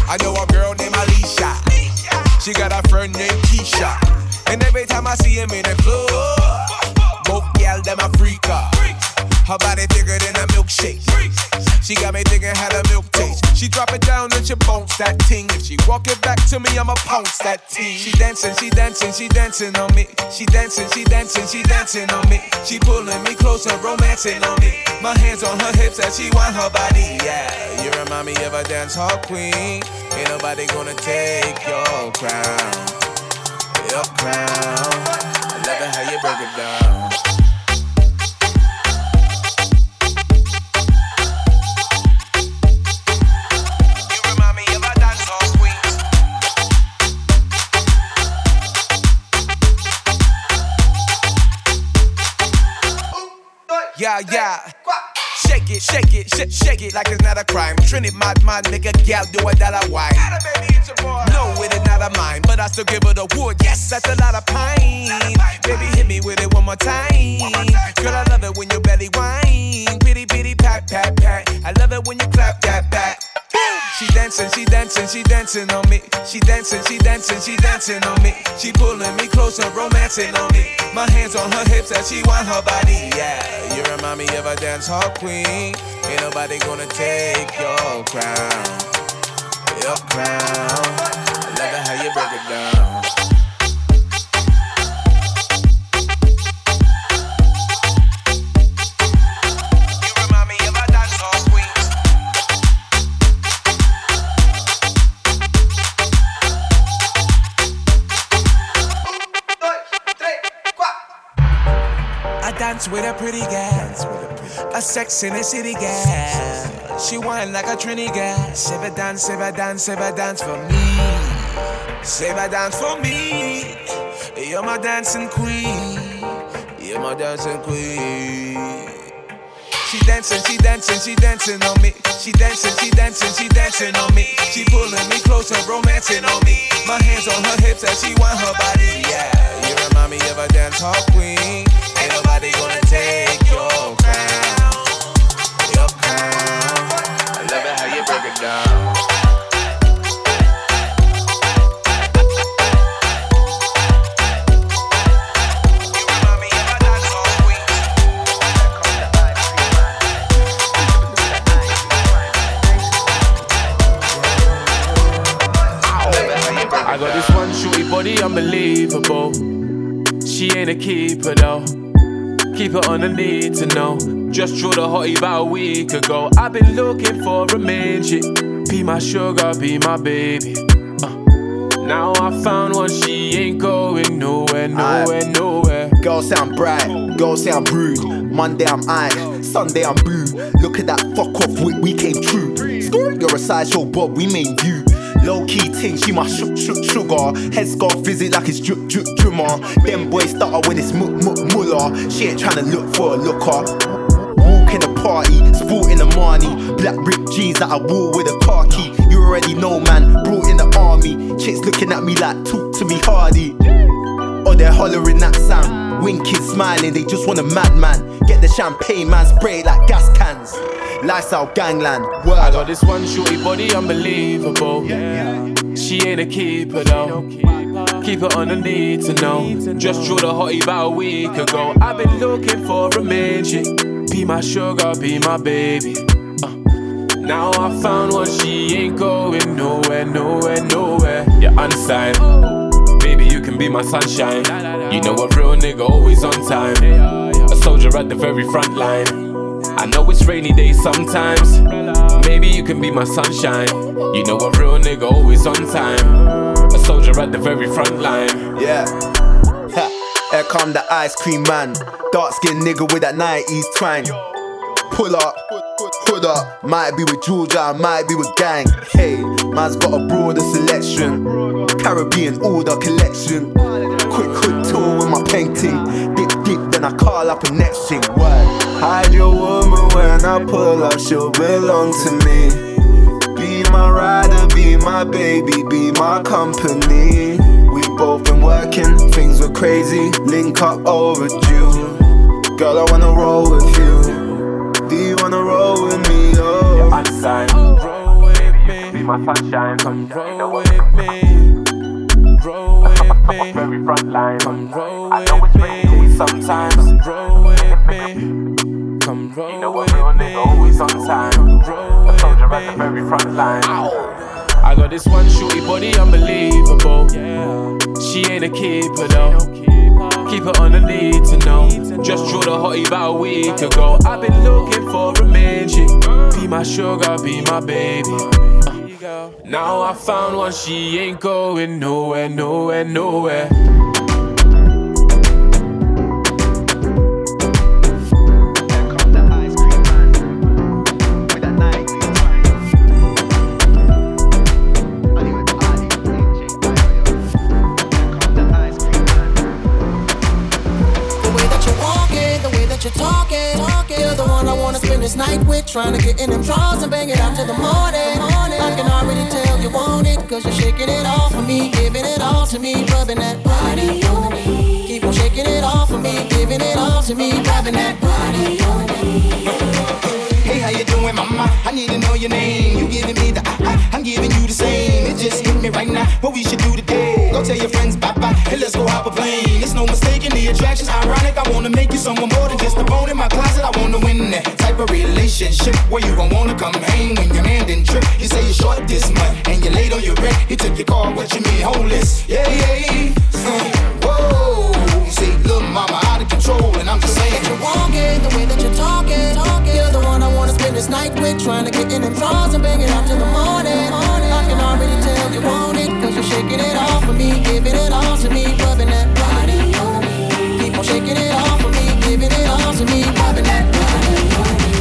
Speaker 19: I know a girl named Alicia. She got a friend named Keisha. And every time I see him in the club, both gal them a freaker. Her body thicker than a milkshake. She got me thinking how the milk taste. She drop it down and she bounce that ting. If she walk it back to me, I'ma pounce that ting. She dancing, she dancing, she dancing on me. She dancing, she dancing, she dancing on me. She pulling me closer, romancing on me. My hands on her hips as she want her body. Yeah, you remind me of a dance hall queen. Ain't nobody gonna take your crown. Your crown. I love it how you break it down. Yeah. Shake it, shake it, shake it like it's not a crime. Trinity, mad, make a gal do a dollar wine. No, it is not a mine, but I still give her the wood. Yes, that's a lot of pine. Baby, hit me with it one more time. Girl, I love it when your belly whine. Pitty, pitty, pat, pat, pat. I love it when you clap that back. She dancing, she dancing, she dancing on me. She dancing, she dancing, she dancing on me. She pulling me closer, romancing on me. My hands on her hips as she want her body. Yeah, you remind me of a dance hall queen. Ain't nobody gonna take your crown. Your crown. I love it how you break it down. Dance with a pretty gal, a sex in the city gal. She whine like a Trini gal. Save a dance, save a dance, save a dance for me. Save a dance for me. You're my dancing queen. You're my dancing queen. She dancing, she dancing, she dancing on me. She dancing, she dancing, she dancing on me. She pulling me closer, romancing on me. My hands on her hips as she want her body. Yeah, you remind me of a dance hall queen. Ain't nobody gonna take your crown. Your crown. I love it how you break it down.
Speaker 14: I got this one shorty body unbelievable. She ain't a keeper though. Keep it on the need to know. Just drew the hottie about a week ago. I've been looking for a main chick. Be my sugar, be my baby. Now I found one, she ain't going nowhere, nowhere.
Speaker 20: Girls sound bright, girls sound rude. Monday I'm ice, Sunday I'm blue. Look at that fuck off we came true. You're a sideshow Bob, we main view. Low key ting, she my sugar. Head scarf visit like it's drummer. Them boys stutter when it's muller. She ain't tryna look for a looker. Walk in the party, sporting the money. Black ripped jeans that I wore with a car key. You already know, man, brought in the army. Chicks looking at me like, talk to me hardy. Or they're hollering that sound. Winking, smiling, they just want a madman. Get the champagne, man, spray it like gas cans. Lifestyle gangland, word.
Speaker 14: I got this one shorty body unbelievable. She ain't a keeper though. Keep it on the need to know. Just drew the hottie about a week ago. I've been looking for a main chick. Be my sugar, be my baby. Now I found one, she ain't going nowhere, nowhere. You're unsigned. Baby, you can be my sunshine. You know a real nigga always on time. A soldier at the very front line. I know it's rainy days sometimes. Maybe you can be my sunshine. You know a real nigga always on time. A soldier at the very front line.
Speaker 20: Yeah. Here come the ice cream man. Dark skinned nigga with that 90s twang. Pull up, hood up. Might be with Georgia, might be with gang. Hey, man's got a broader selection. Caribbean order collection. Quick hood tour with my painting. Dip, then I call up a next thing. Word. Hide your woman when I pull up, she'll belong to me. Be my rider, be my baby, be my company. We both been working, things were crazy, link up overdue. Girl, I wanna roll with you. Do you wanna roll with me? Oh,
Speaker 14: I'm signed. Roll with me. be my sunshine.
Speaker 17: Come roll with me. Roll with me.
Speaker 14: Very front line.
Speaker 17: Come roll
Speaker 14: I know
Speaker 17: with
Speaker 14: it's rainy
Speaker 17: me.
Speaker 14: sometimes.
Speaker 17: Roll with me. Come roll
Speaker 14: You know
Speaker 17: with
Speaker 14: what real
Speaker 17: me.
Speaker 14: nigga always on time.
Speaker 17: Roll with
Speaker 14: Soldier at the
Speaker 17: me.
Speaker 14: very front line.
Speaker 17: I got this one shorty body unbelievable. She ain't a keeper though. Keep her on the need to know. Just drew the hottie about a week ago. I've been looking for a main chick. Be my sugar, be my baby. Now I found one, she ain't going nowhere, nowhere, nowhere.
Speaker 16: This night with trying to get in them drawers and bang it out till the morning. I can already tell you want it, cause you're shaking it off for me, giving it all to me, rubbing that body on me. Keep on shaking it off for me, giving it all to me, rubbing that body on me.
Speaker 11: Hey, how you doing, mama? I need to know your name. You giving me the I'm giving you the same. It just hit me right now. What we should do today? Go tell your friends bye-bye, and let's go hop a plane. It's no mistaking the attraction's ironic. I wanna make you someone more than just a bone in my closet. I wanna win that type of relationship where you gon' wanna come hang when your man didn't trip. You say you're short this month and you're late on your rent. He took your car, what you mean, homeless? Yeah, yeah. Whoa, you say, look, mama, out of control, and I'm just saying.
Speaker 16: You're walking, the way that you're talking. You're the one I wanna spend this night with, trying to get in them drawers and bang it out till the morning. I can already tell you want it, cause you're shaking it off for me, giving it all to me, rubbing that body on me. Keep on shaking it off for me, giving it all to me, rubbing that body on me.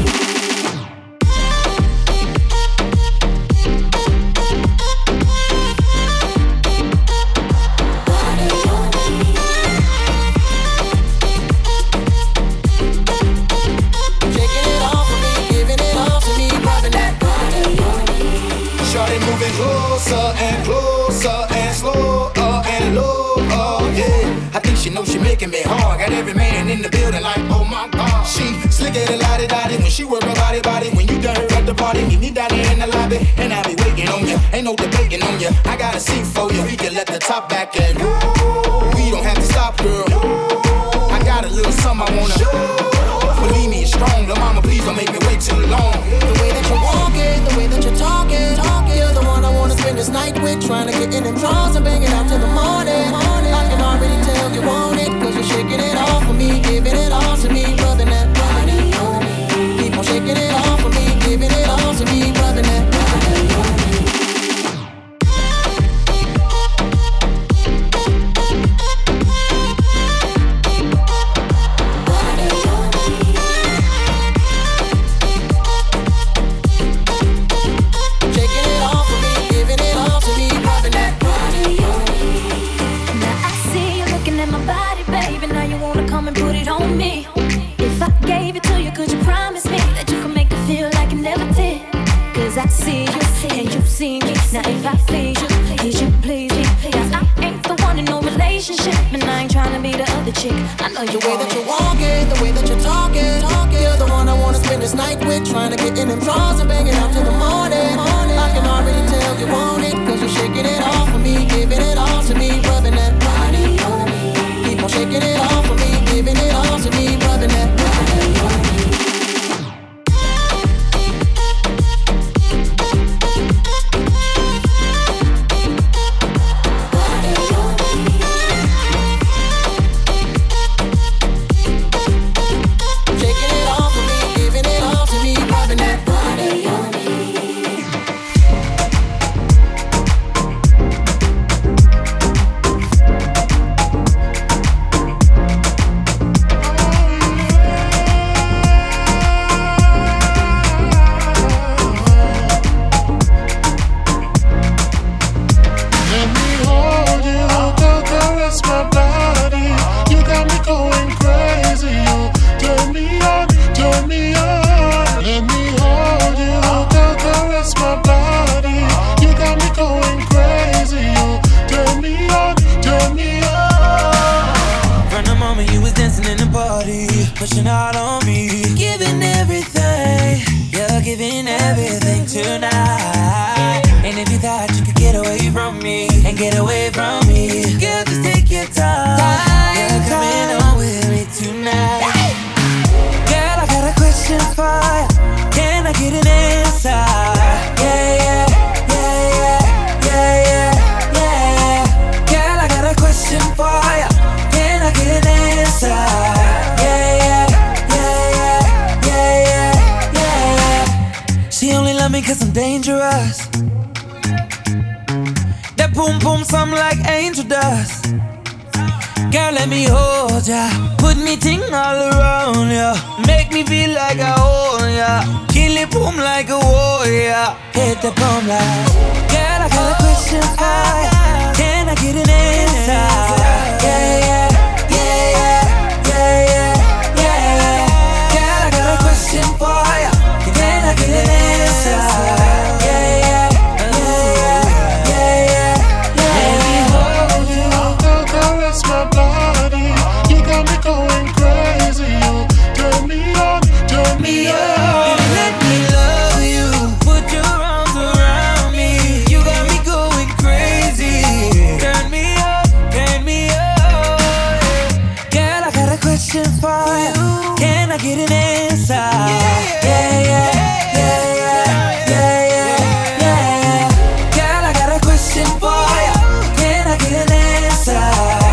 Speaker 11: Closer and closer and slower and lower, yeah. I think she knows she making me hard. Got every man in the building like, oh my God. She slicker than lottie-dottie when she work her body. When you done her at the party, meet me down there in the lobby, and I'll be waiting on you. Ain't no debating on you. I got a seat for you. We can let the top back in. We don't have to stop, girl. I got a little something I wanna. Believe me, it's strong. Lil' mama, please don't make me wait too long.
Speaker 16: The way that you're walking, the way that you're talking. You're the one I wanna spend this night with, trying to get in them drawers and bang it out till the morning. I can already tell you want it, cause you're shaking it off for me, giving it all to me, rubbing that body on me. Keep on shaking it off for me, giving it all to me, rubbing that body on me.
Speaker 7: I see you, and you see me. Now if I please you please me. Cause I ain't the one in no relationship, and I ain't tryna be the other chick. I know you
Speaker 16: the way that you're walking, the way that you're talking. You're the one I wanna spend this night with, trying to get in them drawers and bang it out till the morning. I can already tell you want it, cause you're shaking it off for me, giving it all to me, rubbing that body on me. Keep on shaking it off for me, giving it all to me, rubbing that body on me.
Speaker 7: on me.
Speaker 5: and get away from me. Girl, just take your time. You're coming home with me tonight. Girl, I got a question for you. Can I get an answer? Yeah. Girl, I got a question for you. Can I get an answer? Yeah. She only love me 'cause I'm dangerous. That boom boom something like angel dust. Girl, let me hold ya. Put me ting all around ya. Make me feel like I own ya. Kill it boom like a warrior. Hit the boom like. Girl, I got a question for ya. Can I get an answer? Yeah. Girl, I got a question for ya. Can I get an answer?
Speaker 2: My body, you got me going crazy. You turn me on, turn me on.
Speaker 5: Let me love you. Put your arms around me. You got me going crazy. Turn me up, turn me up. Girl, I got a question for you. Can I get an answer? Yeah. Girl, I got a question for you. Can I get an answer?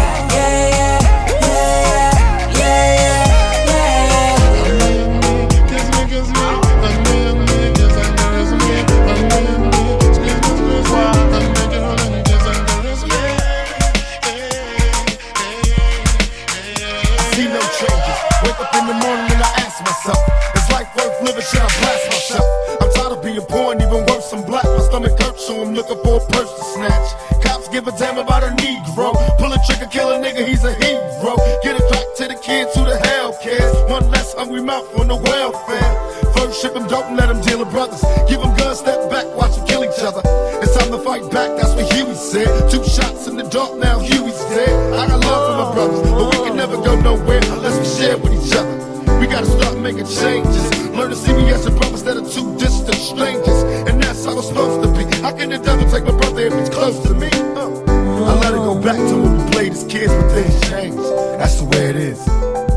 Speaker 2: Should I blast myself? I'm tired of being poor and even worse, I'm black. My stomach hurts, so I'm looking for a purse to snatch. Cops give a damn about a Negro. Pull a trigger, kill a nigga, he's a hero. Get it back to the kids who the hell cares. One less hungry mouth on the welfare. First ship them dope and let them deal with brothers. Give them guns, step back, watch them kill each other. It's time to fight back, that's what Huey said. 2 shots in the dark, now Huey's dead. I got love for my brothers, but we can never go nowhere unless we share with each other. We gotta start making changes. Learn to see me as a brother instead of 2 distant strangers. And that's how it's supposed to be. How can the devil take my brother if he's close to me? I let it go back to when we played as kids, but things change. That's the way it is.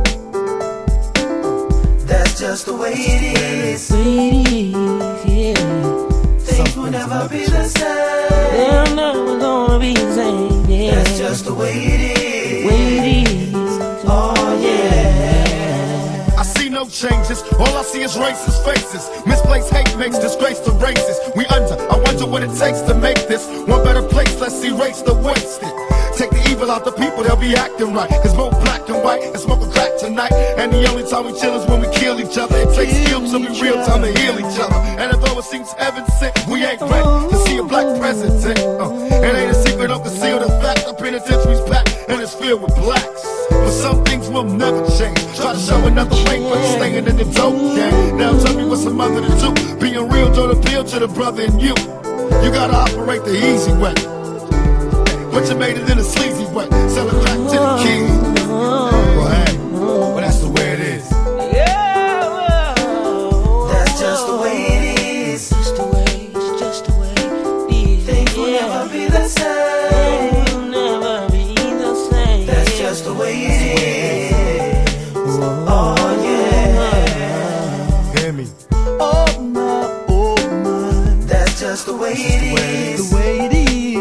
Speaker 5: That's just the way it is. Things will never be the same. They're never gonna be the same. Yeah. That's just the way it is. Oh yeah.
Speaker 2: I see no changes, all I see is racist faces. Misplaced hate makes disgrace to races. We under, I wonder what it takes to make this one better place. Let's erase the wasted. Take the evil out the people, they'll be acting right. Cause both black and white and smoking crack tonight. And the only time we chill is when we kill each other. It takes skill to be real time to heal each other. And although it seems heaven sent, we ain't ready to see a black president. It ain't a secret, don't conceal the fact. The penitentiary's packed and it's filled with blacks. But some things will never change. Try to show another way, but you're staying in the dope game. Now tell me what's a mother to do. Being real don't appeal to the brother in you. You gotta operate the easy way, but you made it in a sleazy way. Sell it back to the kids. Well, hey, but that's the way it is.
Speaker 5: That's just the way it is. Just the way it is. Things will never be the same. That's just the way it is. Oh yeah.
Speaker 2: Hear me.
Speaker 5: Oh my. That's just the way it is. The way it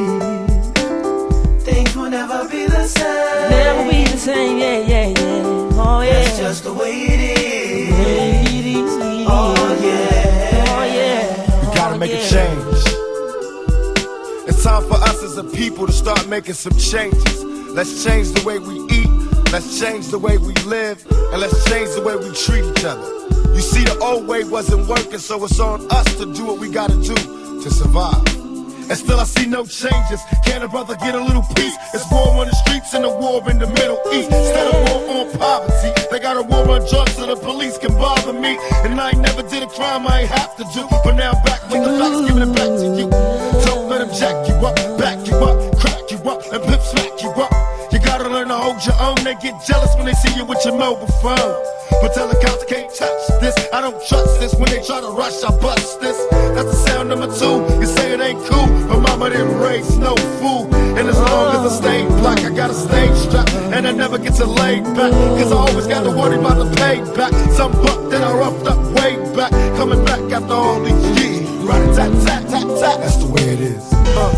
Speaker 5: is. Things will never be the same. Never be the same. Yeah. Oh yeah. That's just the way it is. Oh yeah.
Speaker 2: We gotta make a change. It's time for us as a people to start making some changes. Let's change the way we eat, let's change the way we live, and let's change the way we treat each other. You see, the old way wasn't working, so it's on us to do what we gotta do to survive. And still I see no changes. Can a brother get a little peace? It's war on the streets and a war in the Middle East. Instead of war on poverty, they got a war on drugs so the police can bother me. And I ain't never did a crime I ain't have to do, but now I'm back with the facts, giving it back to you. Don't let them jack you up, back you up, crack you up, and pimp smack you up. You gotta learn to hold your own. They get jealous when they see you with your mobile phone. But tell the cops can't touch this. I don't trust this. When they try to rush, I bust this. That's the sound number 2. You say it ain't cool, but my some of them race, no fool. And as long as I stay black, I got a stage strap, and I never get to lay back, cause I always got to worry about the payback. Some buck that I roughed up way back, coming back after all these years. Right, tat, tat, tat, tat. That's the way it is.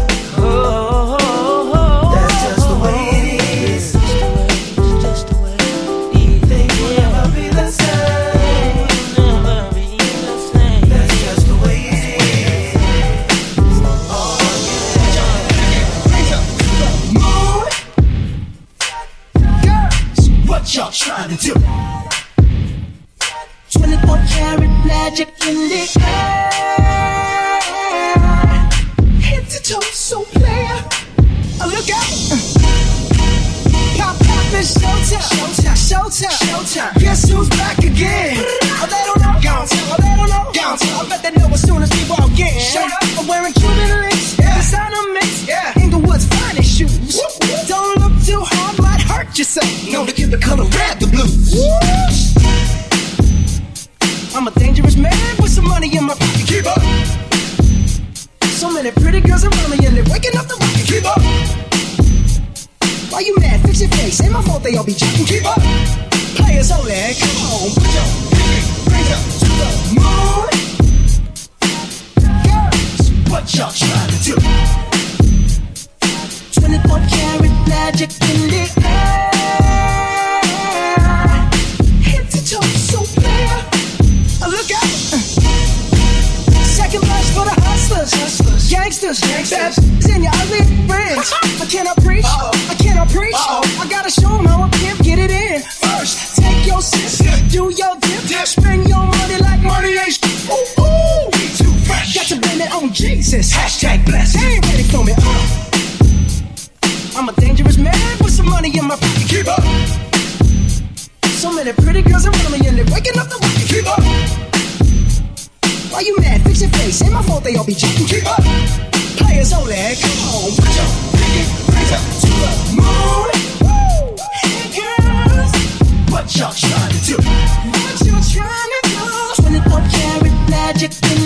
Speaker 5: That's just the way it is. Just the way it is. They will never be the same. Never be the same. That's just the way it is. Oh yeah. Girls, what y'all trying to do? 24 karat magic in the air. Head to toe, so player. Look out! Pop, pop, it's showtime. Showtime, showtime, showtime. Guess who's back again? Oh, they don't know. Gone tell, oh, they don't know. Gone tell. I bet they know as soon as we walk in. Shut up. I'm wearing Cuban links. Yeah. Designer mix. Yeah. Inglewood's finest shoes. Whoop. Don't look too hard, might hurt yourself. Known to give the color red the blues. I'm a dangerous man with some money in my pocket. Keep up. So many pretty girls around me and they're waking up the rocket. Keep up. Why you mad? Fix your face. Ain't my fault they all be jacking. Keep up. Players only. Come on, put your hands up to the moon. Girls, what y'all trying to do? 24 karat magic in the air. Head to toe, so player. Look out. Second verse for the hustlers, gangsters, bad and your ugly friends. I cannot preach, I cannot preach. I gotta show them how a pimp get it in. First, take your sip, do your dip, spend your money like money ain't. Ooh, ooh, we too fresh. Got to blame it on Jesus. Hashtag blessed. They ain't ready for me. I'm a dangerous man with some money in my pocket. Keep up. So many pretty girls around me and they're waking up the rocket. Keep up. Why you mad? Fix your face. Ain't my fault they all be jacking. Keep up. Players only. Come on, put your hands up to the moon. Hey girls, what y'all trying to do? What you trying to do? 24 karat magic in